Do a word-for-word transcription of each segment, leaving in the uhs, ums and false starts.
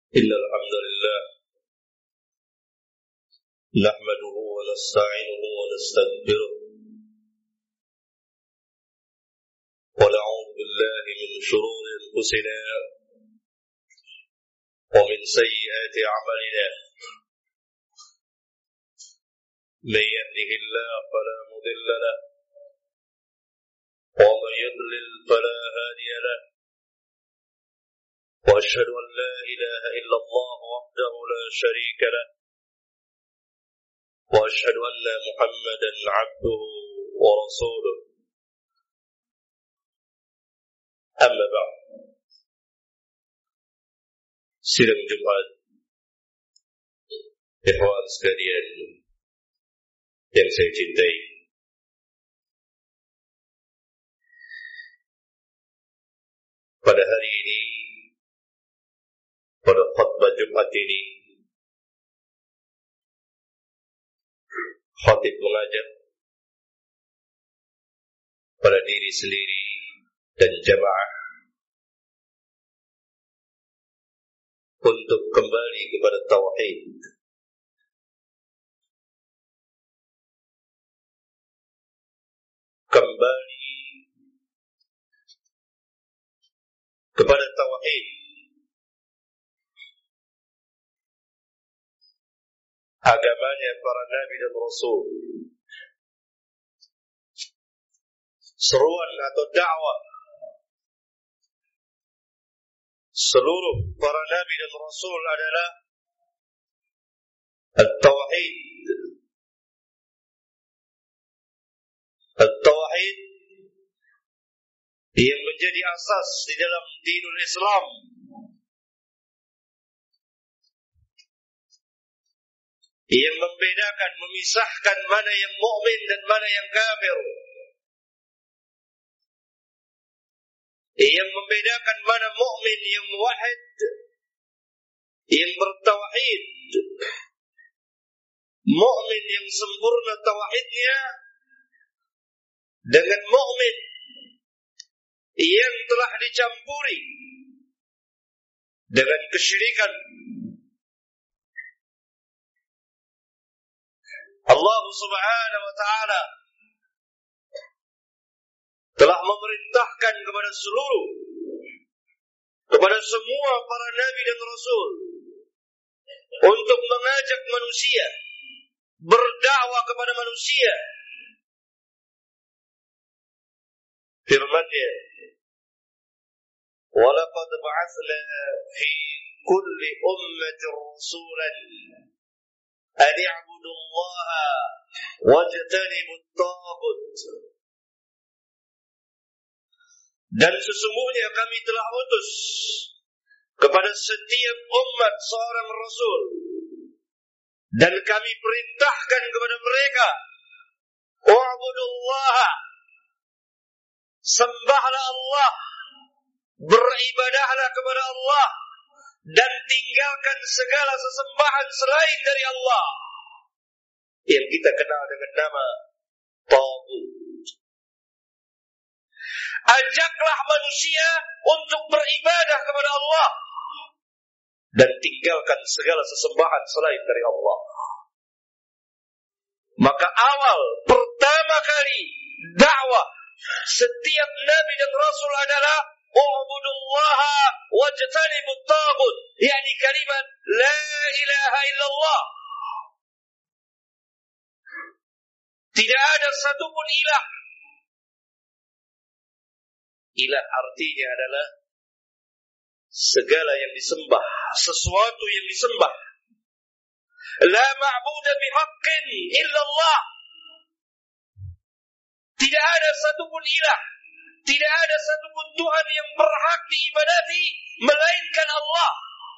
إن الحمد لله نحمده ونستعينه ونستغفره ونعوذ بالله من شرور أنفسنا ومن سيئات أعمالنا من يهده الله فلا مضل له ومن يضلل فلا هادي له وأشهد أن لا إله إلا الله وحده لا شريك له وأشهد أن محمدا عبده ورسوله أما بعد. Sidang Jumat ikhwan sekalian yang saya cintai, pada hari ini, pada khutbah Jumat ini, khatib mengajak pada diri sendiri dan jamaah untuk kembali kepada tauhid. Kembali kepada tauhid. Agamanya para nabi dan rasul. Seruan atau dakwah seluruh para nabi dan rasul adalah at-tauhid. At-tauhid yang menjadi asas di dalam dinul Islam. Yang membedakan, memisahkan mana yang mukmin dan mana yang kafir. Yang membedakan mana mukmin yang muwahhid, yang bertauhid, mukmin yang sempurna tauhidnya, dengan mukmin yang telah dicampuri dengan kesyirikan. Allah Subhanahu wa ta'ala telah memerintahkan kepada seluruh, kepada semua para nabi dan rasul untuk mengajak manusia, berdakwah kepada manusia. Firman-Nya, وَلَقَدْ بَعَثْنَا فِي كُلِّ أُمَّةٍ رَسُولًا أَنِ اعْبُدُوا اللَّهَ وَاجْتَنِبُوا الطَّاغُوتَ. Dan sesungguhnya kami telah utus kepada setiap umat seorang rasul, dan kami perintahkan kepada mereka, wa'budullaha, sembahlah Allah, beribadahlah kepada Allah, dan tinggalkan segala sesembahan selain dari Allah yang kita kenal dengan nama taghut. Ajaklah manusia untuk beribadah kepada Allah dan tinggalkan segala sesembahan selain dari Allah. Maka awal pertama kali dakwah setiap nabi dan rasul adalah u'budullaha wajtanibut taghut, yakni kalimat la ilaha illallah. Tidak ada satupun ilah. Ilah artinya adalah segala yang disembah, sesuatu yang disembah. La ma'budu bihaqqin illallah. Tidak ada satupun ilah, tidak ada satupun Tuhan yang berhak diibadati melainkan Allah.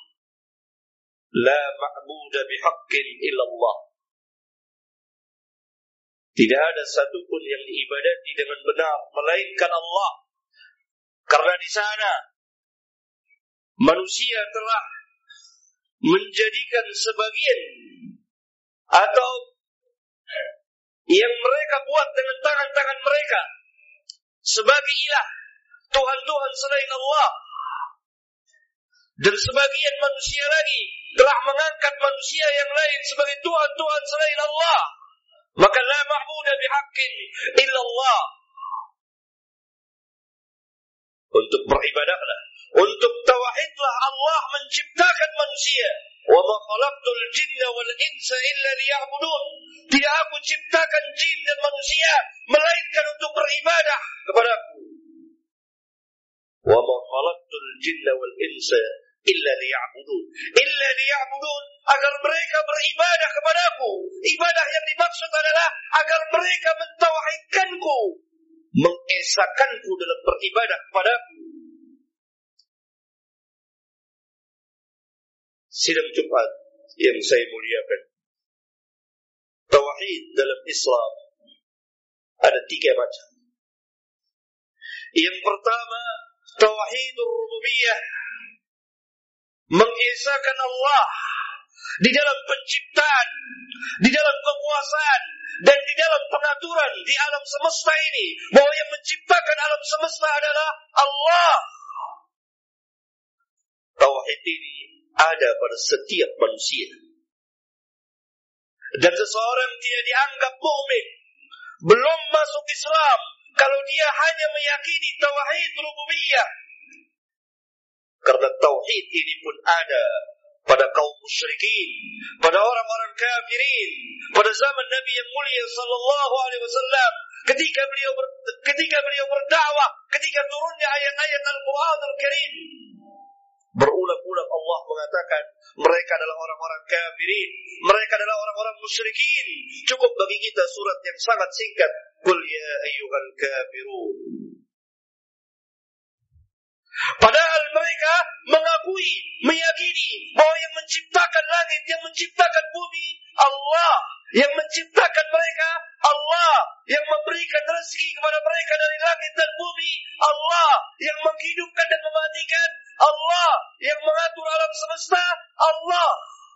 La ma'budu bihaqqin illallah. Tidak ada satupun yang diibadati dengan benar melainkan Allah. Karena di sana manusia telah menjadikan sebagian atau yang mereka buat dengan tangan-tangan mereka sebagai ilah, Tuhan-Tuhan selain Allah. Dan sebagian manusia lagi telah mengangkat manusia yang lain sebagai Tuhan-Tuhan selain Allah. Maka la ma'budu bihaqqin illa Allah. Untuk beribadahlah, untuk tauhidlah Allah menciptakan manusia. Wa ma khalaqtul jinna wal insa illa liya'budun. Tidak aku ciptakan jin dan manusia melainkan untuk beribadah kepadaku. Wa ma khalaqtul jinna wal insa illa liya'budun. Illa liya'budun, agar mereka beribadah kepadaku. Ibadah yang dimaksud adalah agar mereka mentauhidkanku, mengesakanku dalam beribadah kepadaku. Sidang Jumat yang saya muliakan, tauhid dalam Islam ada tiga macam. Yang pertama, tauhidur rububiyah, mengesakan Allah di dalam penciptaan, di dalam kekuasaan, dan di dalam pengaturan di alam semesta ini, bahwa yang menciptakan alam semesta adalah Allah. Tauhid ini ada pada setiap manusia, dan seseorang tidak dianggap mukmin, belum masuk Islam, kalau dia hanya meyakini tauhid rububiyah. Karena tauhid ini pun ada pada kaum musyrikin, pada orang-orang kafirin, pada zaman Nabi yang mulia sallallahu alaihi wasallam, ketika beliau ber, ketika beliau berdakwah, ketika turunnya ayat-ayat Al-Qur'an Al-Karim. Berulang-ulang Allah mengatakan mereka adalah orang-orang kafirin, mereka adalah orang-orang musyrikin. Cukup bagi kita surat yang sangat singkat, Qul ya ayyuhal kafirun. Padahal mereka mengakui, meyakini bahwa yang menciptakan langit, yang menciptakan bumi Allah, yang menciptakan mereka Allah, yang memberikan rezeki kepada mereka dari langit dan bumi Allah, yang menghidupkan dan mematikan Allah, yang mengatur alam semesta Allah.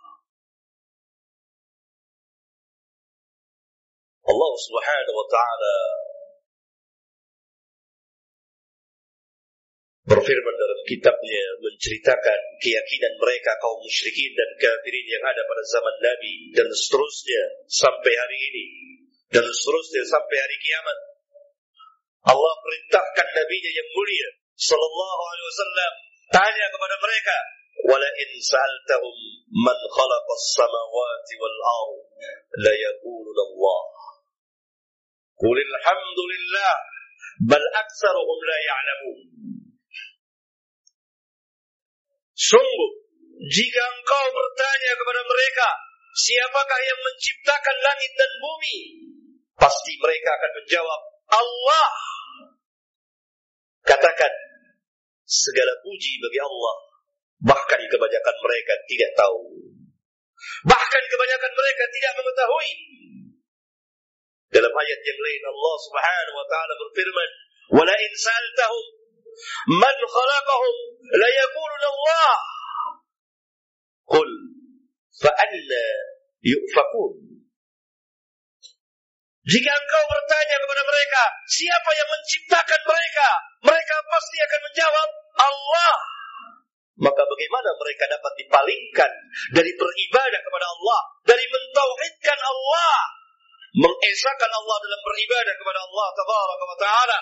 Allah Subhanahu wa ta'ala berfirman dalam kitabnya, menceritakan keyakinan mereka kaum musyrikin dan kafirin yang ada pada zaman Nabi dan seterusnya sampai hari ini, dan seterusnya sampai hari kiamat. Allah perintahkan Nabi-Nya yang mulia sallallahu alaihi wasallam tanya kepada mereka, wala in sa'altahum man khalaqas samawati wal ard la yaquluna Allah. Qul alhamdulillah bal aktsaruhum la ya'lamun. Sungguh, jika engkau bertanya kepada mereka, siapakah yang menciptakan langit dan bumi? Pasti mereka akan menjawab, Allah. Katakan, segala puji bagi Allah. Bahkan kebanyakan mereka tidak tahu. Bahkan kebanyakan mereka tidak mengetahui. Dalam ayat yang lain Allah Subhanahu wa ta'ala berfirman, wala in sa'altahum man khalaqahum la yaquluna Allah. Qul fa anna yufakun. Jika engkau bertanya kepada mereka, siapa yang menciptakan mereka? Mereka pasti akan menjawab, Allah. Maka bagaimana mereka dapat dipalingkan dari beribadah kepada Allah, dari mentauhidkan Allah, mengesahkan Allah dalam beribadah kepada Allah tabaraka wa ta'ala?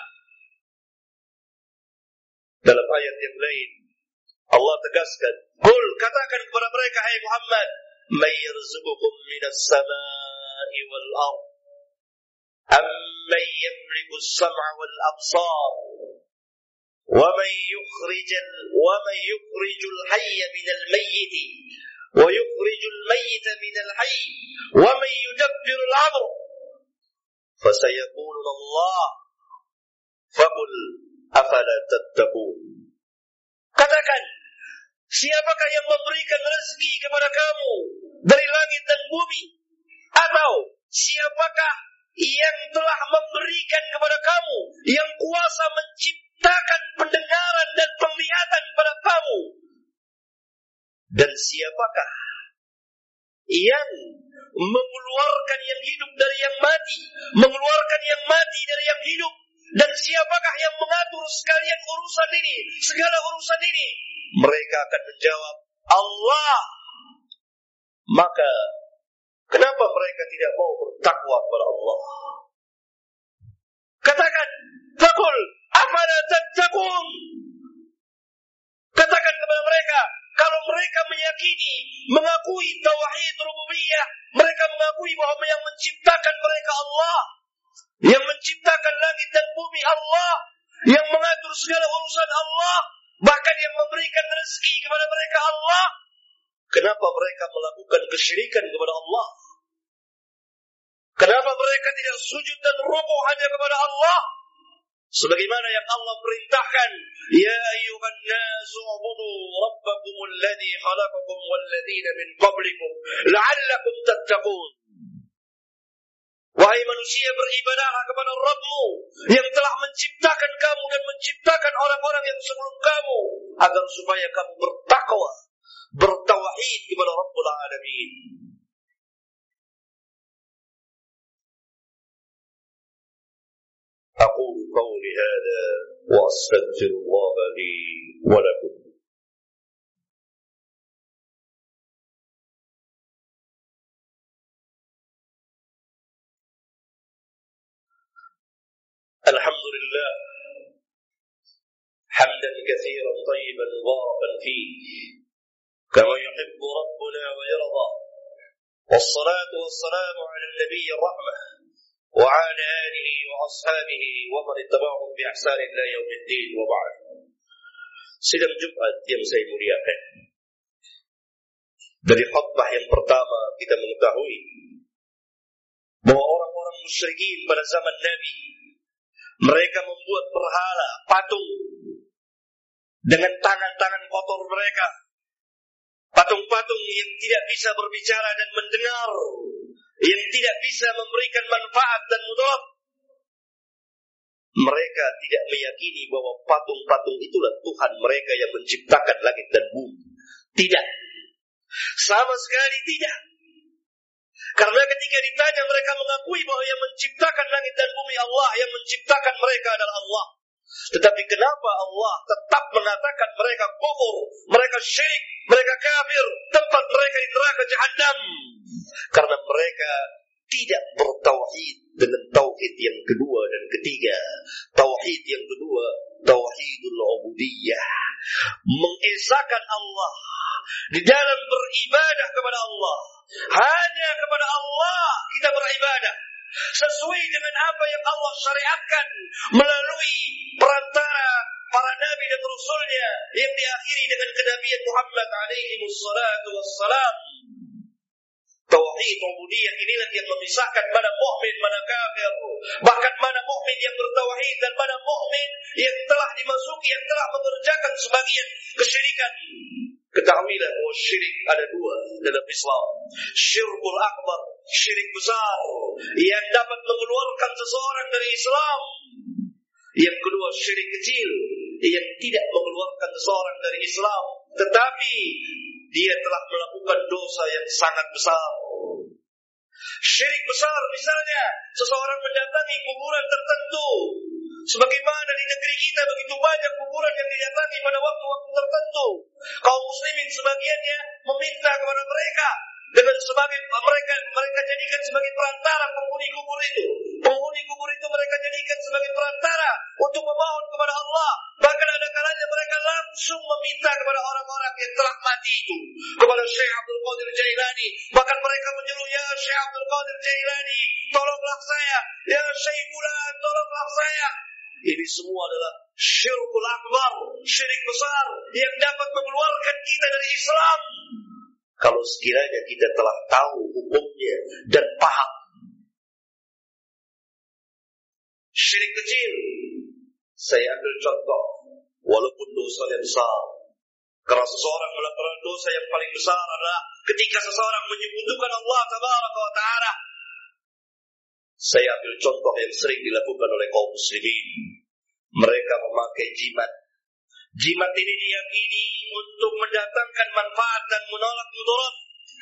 Dalam ayat yang lain Allah tegaskan, qul, katakan kepada mereka, hai Muhammad, may yarzuqukum minas samai wal ard amman yamliku as-sam'a wal absar wa man yukhrijul wa man yukhrijul hayya minal mayyit wa yukhrijul mayyita minal hayy wa man yudabbiru al-amr fasayaquluna Allah faqul afala tattaqun. Katakan, siapakah yang memberikan rezeki kepada kamu dari langit dan bumi? Atau siapakah yang telah memberikan kepada kamu, yang kuasa menciptakan pendengaran dan penglihatan pada kamu? Dan siapakah yang mengeluarkan yang hidup dari yang mati, mengeluarkan yang mati dari yang hidup? Dan siapakah yang mengatur sekalian urusan ini, segala urusan ini? Mereka akan menjawab, Allah. Maka kenapa mereka tidak mau bertakwa kepada Allah? Katakan, faqul afala tattaqun. Katakan kepada mereka, kalau mereka meyakini, mengakui tauhid rububiyah, mereka mengakui bahwa yang menciptakan mereka Allah, yang menciptakan langit dan bumi Allah, yang mengatur segala urusan Allah, bahkan yang memberikan rezeki kepada mereka Allah, kenapa mereka melakukan kesyirikan kepada Allah? Kenapa mereka tidak sujud dan rukuk hanya kepada Allah? Sebagaimana yang Allah perintahkan, ya ayyuhan nasu ubudu rabbakumul ladzi khalaqakum wal ladzina min qablikum la'allakum tattaqun. Wahai manusia, beribadahlah kepada Rabbmu yang telah menciptakan kamu dan menciptakan orang-orang yang sebelum kamu, agar supaya kamu bertakwa, bertauhid kepada Rabbul Alamin. أقول قولي هذا وأستغفر الله لي ولكم. الحمد لله حمدا كثيرا طيبا مباركا فيه كما يحب ربنا ويرضى، والصلاة والسلام على النبي الرحمة وعلى آله وأصحابه ومن اتبعهم بإحسان إلى يوم الدين وبعد. Sidang Jumat yang saya muliakan, dari khutbah yang pertama kita mengetahui bahwa orang-orang musyrikin pada zaman Nabi, mereka membuat berhala, patung dengan tangan-tangan kotor mereka, patung-patung yang tidak bisa berbicara dan mendengar, yang tidak bisa memberikan manfaat dan mudarat. Mereka tidak meyakini bahwa patung-patung itulah Tuhan mereka yang menciptakan langit dan bumi. Tidak. Sama sekali tidak. Karena ketika ditanya, mereka mengakui bahwa yang menciptakan langit dan bumi Allah, yang menciptakan mereka adalah Allah. Tetapi kenapa Allah tetap mengatakan mereka kufur, mereka syirik, mereka kafir, tempat mereka di neraka Jahannam? Karena mereka tidak bertauhid dengan tauhid yang kedua dan ketiga. Tauhid yang kedua, tauhidul ubudiyah, mengesahkan Allah di dalam beribadah kepada Allah. Hanya kepada Allah kita beribadah, sesuai dengan apa yang Allah syariatkan melalui perantara para nabi dan rasulnya yang diakhiri dengan kenabian Muhammad alaihi wassalatu wassalam. Tauhid ubudiyah inilah yang memisahkan mana mukmin mana kafir, bahkan mana mukmin yang bertauhid dan mana mukmin yang telah dimasuki, yang telah mengerjakan sebagian kesyirikan. Ketahuilah bahwa syirik ada dua dalam Islam. Syirkul akbar, syirik besar yang dapat mengeluarkan seseorang dari Islam. Yang kedua, syirik kecil yang tidak mengeluarkan seseorang dari Islam, tetapi dia telah melakukan dosa yang sangat besar. Syirik besar misalnya seseorang mendatangi kuburan tertentu. Sebagaimana di negeri kita begitu banyak kuburan yang didatangi pada waktu-waktu tertentu. Kaum muslimin sebagiannya meminta kepada mereka dengan sebagai mereka mereka jadikan sebagai perantara penghuni kubur itu. Penghuni kubur itu mereka jadikan sebagai perantara untuk memohon kepada Allah. Bahkan ada kalanya mereka langsung meminta kepada orang-orang yang telah mati itu, kepada Syekh Abdul Qadir Jailani. Bahkan mereka menyeru, ya Syekh Abdul Qadir Jailani, tolonglah saya. Ya Syekh Fulan, tolonglah saya. Ini semua adalah syirkul akbar, syirik besar yang dapat mengeluarkan kita dari Islam. Kalau sekiranya kita telah tahu hukumnya dan paham. Syirik kecil, saya ambil contoh, walaupun dosanya besar. Karena seseorang melakukan dosa yang paling besar adalah ketika seseorang menyebutkan Allah Tabaraka wa Ta'ala. Saya ambil contoh yang sering dilakukan oleh kaum muslimin. Mereka memakai jimat. Jimat ini diyakini untuk mendatangkan manfaat dan menolak mudarat.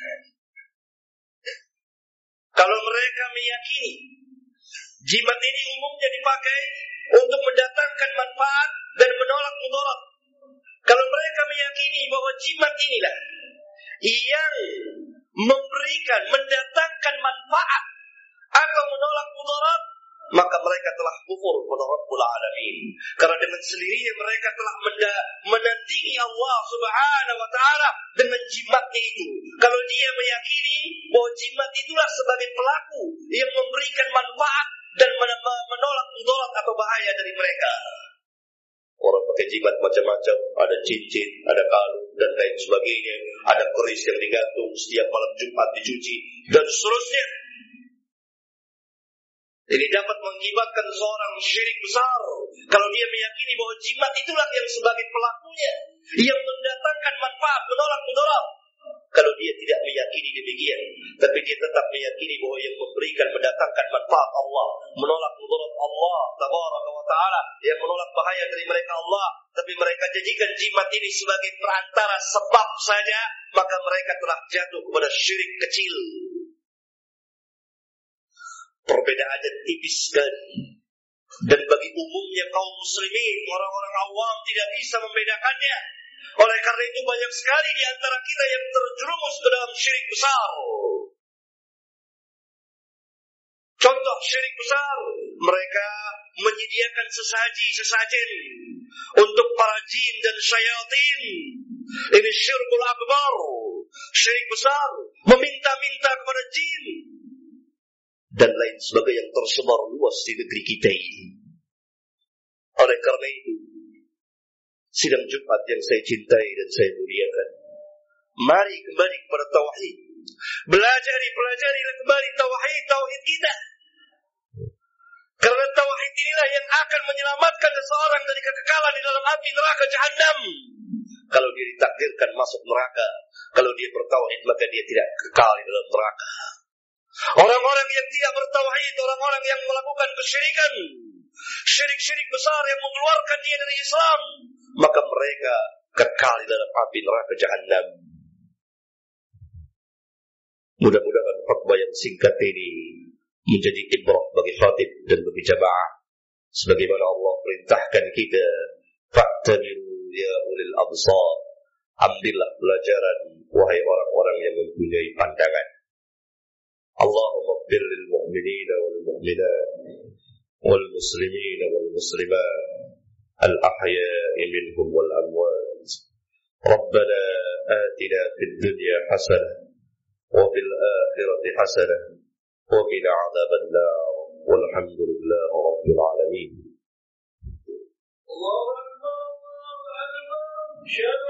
Kalau mereka meyakini jimat ini umumnya dipakai untuk mendatangkan manfaat dan menolak mudarat, Kalau mereka meyakini bahwa jimat inilah yang memberikan, mendatangkan manfaat atau menolak mudarat, maka mereka telah kufur kepada Rabbul Alamin. Karena dengan sendirinya mereka telah menandingi Allah Subhanahu wa taala dengan jimatnya itu. Kalau dia meyakini bahwa jimat itulah sebagai pelaku yang memberikan manfaat dan menolak mudarat atau bahaya dari mereka. Orang pakai jimat macam-macam, ada cincin, ada kalung, dan lain sebagainya. Ada keris yang digantung setiap malam Jumat dicuci, dan seterusnya. Ini dapat mengakibatkan seorang syirik besar kalau dia meyakini bahwa jimat itulah yang sebagai pelakunya, yang mendatangkan manfaat, menolak mudarat. Kalau dia tidak meyakini demikian, tapi dia tetap meyakini bahwa yang memberikan, mendatangkan manfaat Allah, menolak mudarat Allah Tabaraka wa Ta'ala, yang menolak bahaya dari mereka Allah, tapi mereka jadikan jimat ini sebagai perantara sebab saja, maka mereka telah jatuh kepada syirik kecil. Perbedaannya tipis sekali. Dan bagi umumnya kaum muslimin, orang-orang awam tidak bisa membedakannya. Oleh karena itu banyak sekali di antara kita yang terjerumus ke dalam syirik besar. Contoh syirik besar, mereka menyediakan sesaji-sesajen untuk para jin dan syaitan. Ini syirkul akbar, syirik besar, meminta-minta kepada jin dan lain sebagainya yang tersebar luas di negeri kita ini. Oleh karena itu, sidang Jumat yang saya cintai dan saya muliakan, mari kembali kepada tauhid. Belajari, pelajari kembali tauhid, tauhid kita. Karena tauhid inilah yang akan menyelamatkan seseorang dari kekekalan di dalam api neraka Jahannam. Kalau dia ditakdirkan masuk neraka, kalau dia bertauhid, maka dia tidak kekal di dalam neraka. Orang-orang yang tidak bertauhid, orang-orang yang melakukan kesyirikan, syirik-syirik besar yang mengeluarkan dia dari Islam, maka mereka kekal di dalam api neraka Jahannam. Mudah-mudahan khutbah yang singkat ini menjadi ibrah bagi khatib dan bagi jamaah, sebagaimana Allah perintahkan kita, fa'tabiru ya ulil absar, ambillah pelajaran wahai orang-orang yang mempunyai pandangan. Allahumma ighfir lil mu'minina wal mu'minat wal muslimina wal muslimat al ahya'i minhum wal amwat. Rabbana atina fid dunya hasanah wa fil akhirati hasanah wa qina 'adzaban nar. Walhamdulillahi rabbil alamin. Allahu akbar.